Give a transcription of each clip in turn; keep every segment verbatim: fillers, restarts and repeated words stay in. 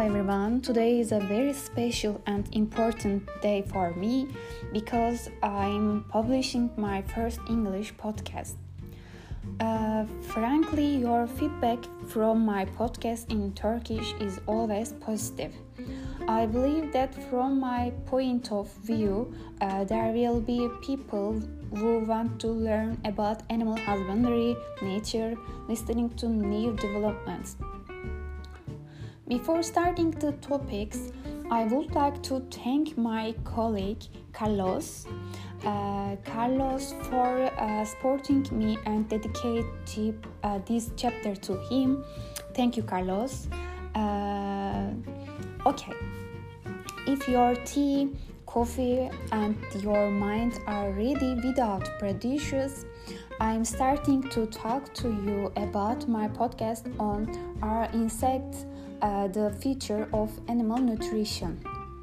everyone. Today is a very special and important day for me because I'm publishing my first English podcast. Uh, frankly, your feedback from my podcast in Turkish is always positive. I believe that from my point of view, uh, there will be people who want to learn about animal husbandry, nature, listening to new developments. Before starting the topics, I would like to thank my colleague Carlos, uh, Carlos for uh, supporting me and dedicate uh, this chapter to him. Thank you, Carlos. Uh, okay, if your tea, coffee, and your mind are ready without prejudice, I'm starting to talk to you about my podcast on our insects. Uh, the feature of animal nutrition.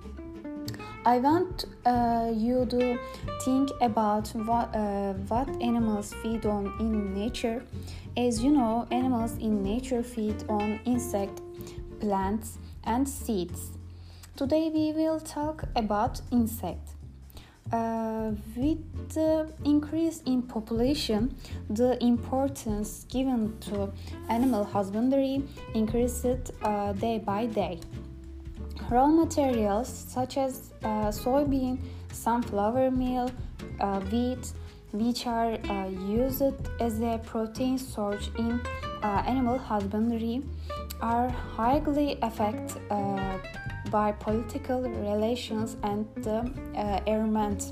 I want uh, you to think about what, uh, what animals feed on in nature. As you know, animals in nature feed on insects, plants, and seeds. Today we will talk about insects. Uh, with the increase in population, the importance given to animal husbandry increased uh, day by day. Raw materials such as uh, soybean, sunflower meal, uh, wheat, which are uh, used as a protein source in uh, animal husbandry, are highly affected uh, by political relations and the uh, environment.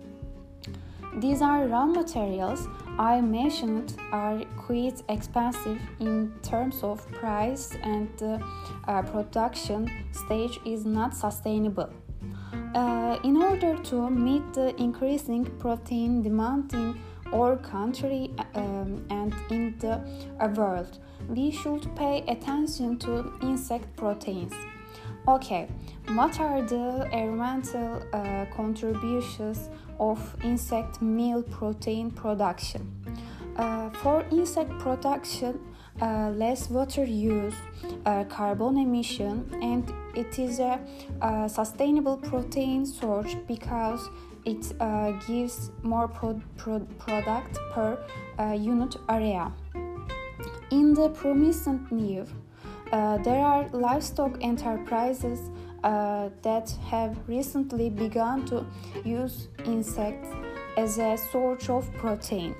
These are raw materials I mentioned are quite expensive in terms of price, and the uh, production stage is not sustainable. Uh, in order to meet the increasing protein demand in our country um, and in the uh, world, we should pay attention to insect proteins. Okay, what are the environmental uh, contributions of insect meal protein production? Uh, for insect production, uh, less water use, uh, carbon emission, and it is a, a sustainable protein source because it uh, gives more pro- pro- product per uh, unit area. In the promising year, Uh, there are livestock enterprises uh, that have recently begun to use insects as a source of protein.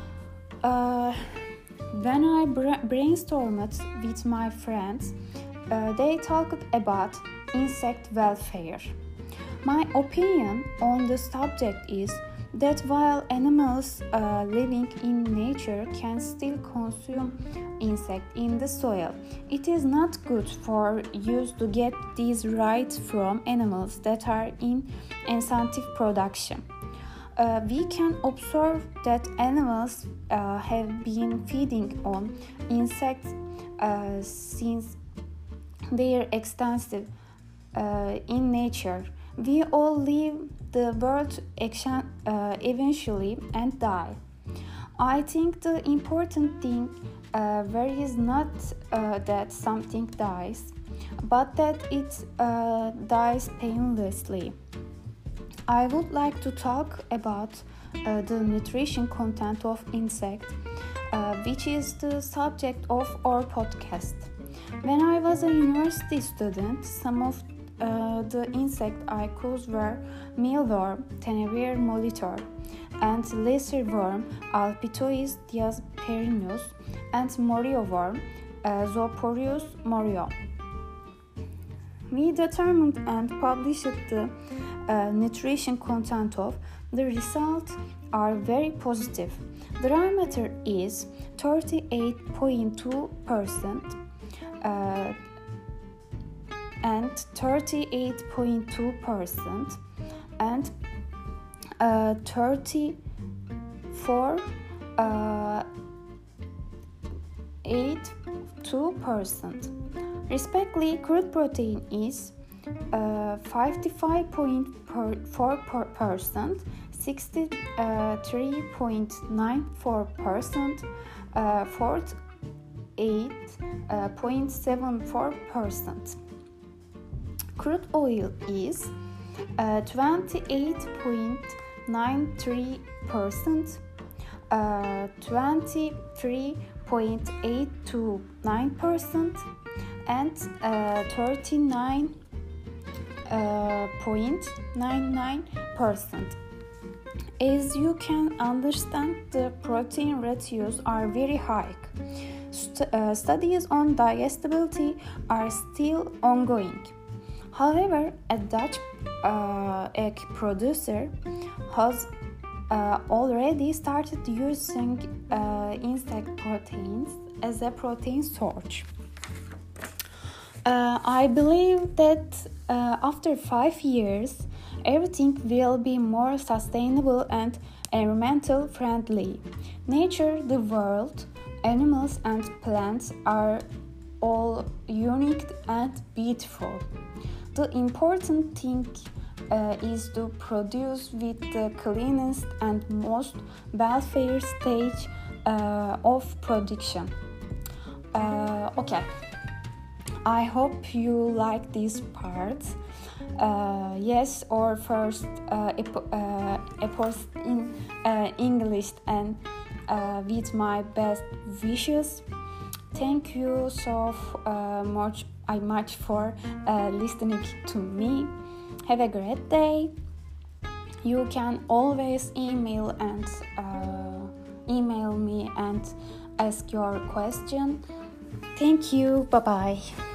Uh, when I bra- brainstormed with my friends, uh, they talked about insect welfare. My opinion on the subject is that while animals uh, living in nature can still consume insects in the soil, it is not good for us to get these rights from animals that are in incentive production. Uh, we can observe that animals uh, have been feeding on insects uh, since their extensive uh, in nature. We all leave the world action, uh, eventually and die. I think the important thing uh, where is not uh, that something dies, but that it uh, dies painlessly. I would like to talk about uh, the nutrition content of insect, uh, which is the subject of our podcast. When I was a university student, some of Uh, the insect I chose were mealworm, Tenebrae molitor, and lesser worm, Alpitois diasperinus, and morio worm, uh, Zooporus morio. We determined and published the uh, nutrition content of the results are very positive. The diameter is thirty-eight point two percent. Uh, and thirty-eight point two percent and uh, thirty-four uh, eight two percent. Respectively, crude protein is uh, fifty-five point four percent, sixty-three point nine four percent, uh, forty-eight point seven four percent. Crude oil is uh, twenty-eight point nine three percent, uh, twenty-three point eight two nine percent, and uh, thirty-nine point nine nine percent. As you can understand, the protein ratios are very high. St- uh, studies on digestibility are still ongoing. However, a Dutch uh, egg producer has uh, already started using uh, insect proteins as a protein source. Uh, I believe that uh, after five years, everything will be more sustainable and environmental friendly. Nature, the world, animals and plants are all unique and beautiful. The important thing uh, is to produce with the cleanest and most welfare stage uh, of production. Uh, okay. I hope you like this part. Uh, yes, or first uh, ep- uh, epost in uh, English and uh, with my best wishes. Thank you so uh, much, I much for uh, listening to me. Have a great day. You can always email and uh, email me and ask your question. Thank you. Bye bye.